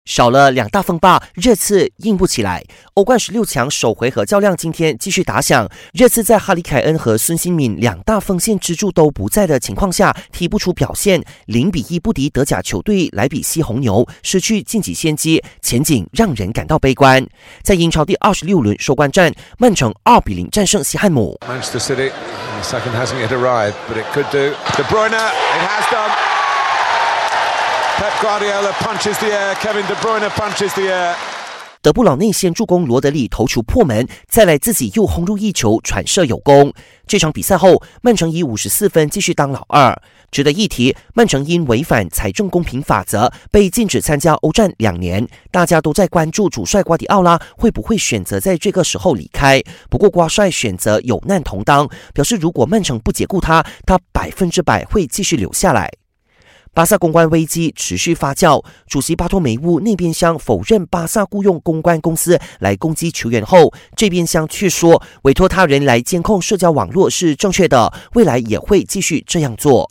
少了两大锋霸，热刺硬不起来。欧冠16强首回合较量今天继续打响，热刺在哈里凯恩和孙兴敏两大锋线支柱都不在的情况下，踢不出表现，0-1不敌德甲球队莱比锡红牛，失去晋级先机，前景让人感到悲观。在英超第26轮收官战，曼城2-0战胜西汉姆。 Manchester City, the second hasn't yet arrived, but it could do. De Bruyne, it has done.Pep Guardiola punches the air. Kevin De Bruyne punches the air. 德布劳内先助攻罗德里头球破门，再来自己又轰入一球传射有功。这场比赛后，曼城以54分继续当老二。值得一提，曼城因违反财政公平法则被禁止参加欧战2年，大家都在关注主帅瓜迪奥拉会不会选择在这个时候离开。不过瓜帅选择有难同当，表示如果曼城不解雇他100%会继续留下来。巴萨公关危机持续发酵，主席巴托梅乌那边厢否认巴萨雇用公关公司来攻击球员后，这边厢却说委托他人来监控社交网络是正确的，未来也会继续这样做。